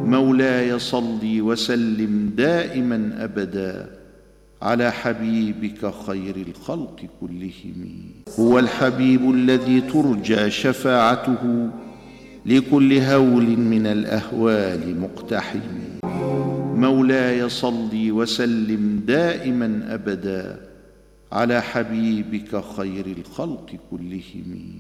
مولاي صل وسلم دائما أبدا على حبيبك خير الخلق كلهم. هو الحبيب الذي ترجى شفاعته لكل هول من الأهوال مقتحم. مولاي صل وسلم دائما أبدا على حبيبك خير الخلق كلهم.